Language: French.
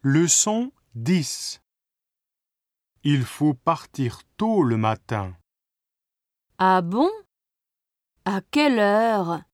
Leçon 10. Il faut partir tôt le matin. Ah bon? À quelle heure?